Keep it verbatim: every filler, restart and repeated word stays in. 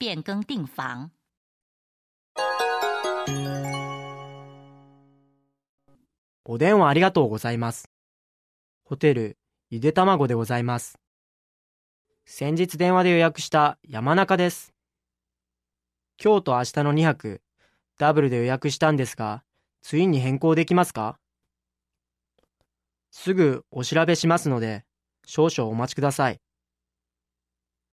变更订房。 お電話ありがとうございます。ホテルゆでたまごでございます。先日電話で予約した山中です。今日と明日のにはくダブルで予約したんですが、ツインに変更できますか？すぐお調べしますので少々お待ちください。